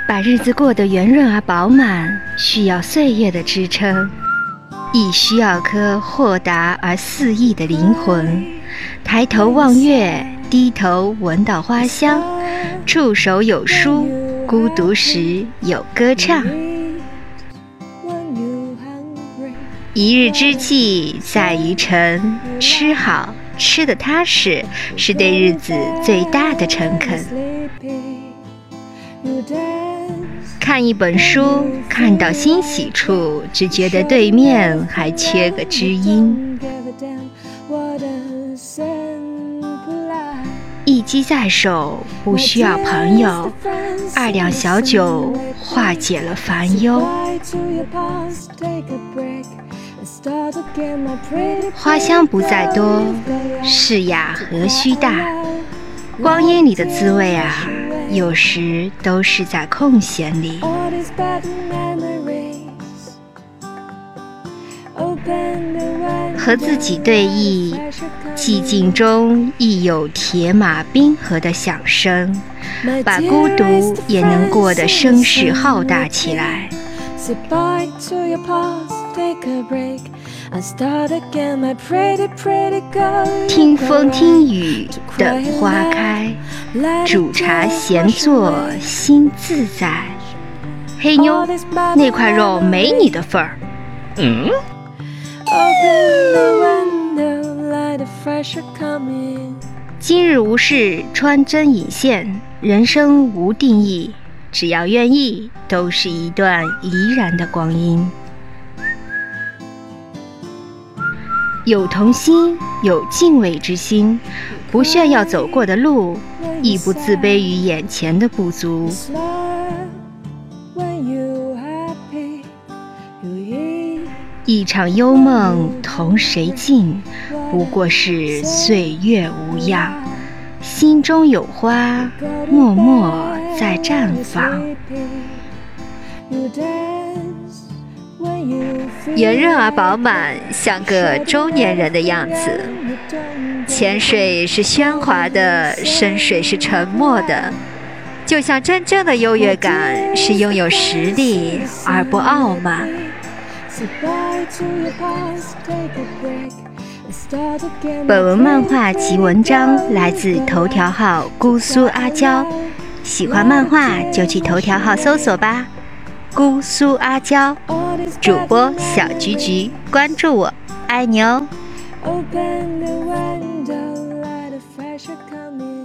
把日子过得圆润而饱满，需要岁月的支撑，亦需要颗豁达而肆意的灵魂。抬头望月，低头闻到花香，触手有书，孤独时有歌唱。一日之计在于晨，吃好吃得踏实，是对日子最大的诚恳。看一本书，看到欣喜处，只觉得对面还缺个知音。一机在手，不需要朋友，2两小酒化解了烦忧。花香不在多，是雅何须大。光阴里的滋味啊，有时都是在空闲里。和自己对弈，寂静中亦有铁马冰河的响声，把孤独也能过得声势浩大起来。听风听雨，等花开，煮茶闲坐，心自在。黑妞，那块肉没你的份儿。今日无事，穿针引线，人生无定义，只要愿意，都是一段怡然的光阴。有童心，有敬畏之心，不炫耀走过的路，亦不自卑于眼前的不足。一场幽梦同谁尽，不过是岁月无恙。心中有花，默默在绽放。 圆润而饱满，像个中年人的样子。浅水是喧哗的，深水是沉默的。就像真正的优越感是拥有实力而不傲慢。 本文漫画及文章来自头条号姑苏阿娇，喜欢漫画就去头条号搜索吧。姑苏阿娇，主播小菊菊，关注我，爱你哦。Open the window, let the fresh air come in.